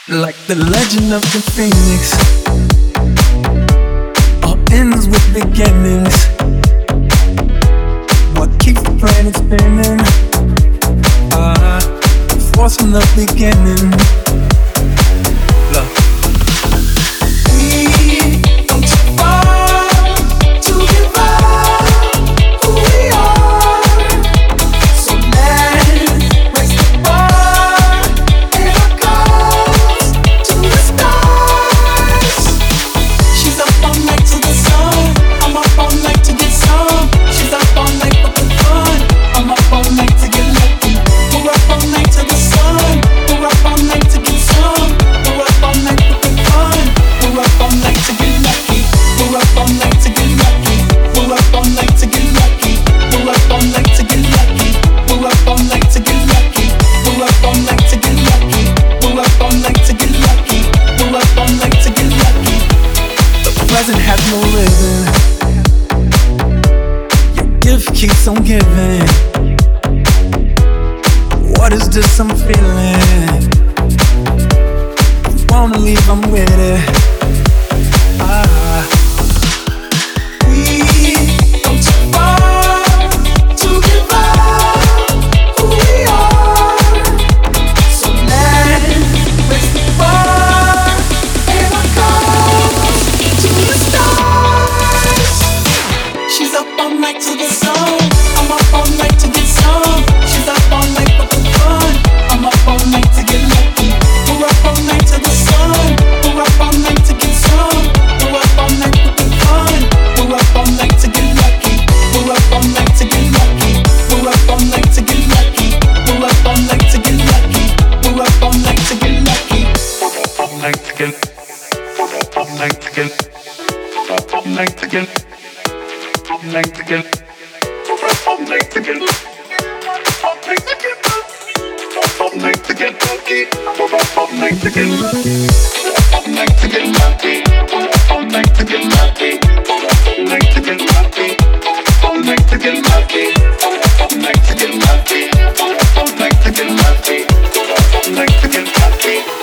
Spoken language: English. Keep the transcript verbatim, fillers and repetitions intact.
Like the legend of the phoenix, all ends with beginnings. What keeps the planet spinning? Ah, the force from the beginning. Look, we come too far to give up who we are. So let's raise the bar and our goals to the stars. She's up all night to the sun. I'm up all night to get some. She's up all night for the fun. I'm up all night to get lucky. We're up all night to the sun. We're up all night to get some. We're up all night for the fun. We're up all night to get lucky. We're up all night to get lucky. We're up all night to get lucky. We're up all night to get lucky. We're up all night to get lucky. We're up all night to get lucky. We're up all night to get lucky. We're up all night to get lucky. The present has no living. Your gift keeps on giving. What is this I'm feeling? Wanna leave, I'm with it. Ah, we come too far to give up who we are. So let's raise the bar and our goals to the stars. She's up all night to the sun. I'm up all night to get some. She's up all night for the fun. I'm up all night to get lucky. We're up all night to the sun. We're up all night to get some. We're up all night for the fun. We're up all night to get lucky. We're up all night to get lucky. We're up all night to get lucky. We're up all night to get lucky. We're up all night to get lucky. We're up all night to get. We're up all night to get. We're up all night to get. All night to get. We're up all night to get. All night to get. All night to get lucky. We're up all night to get. We're up all night to get lucky. We're up all night to get lucky. We're up all night to get lucky. All night to get lucky. We're up all night to get lucky. We're up all night to get lucky. We're up all night to get lucky.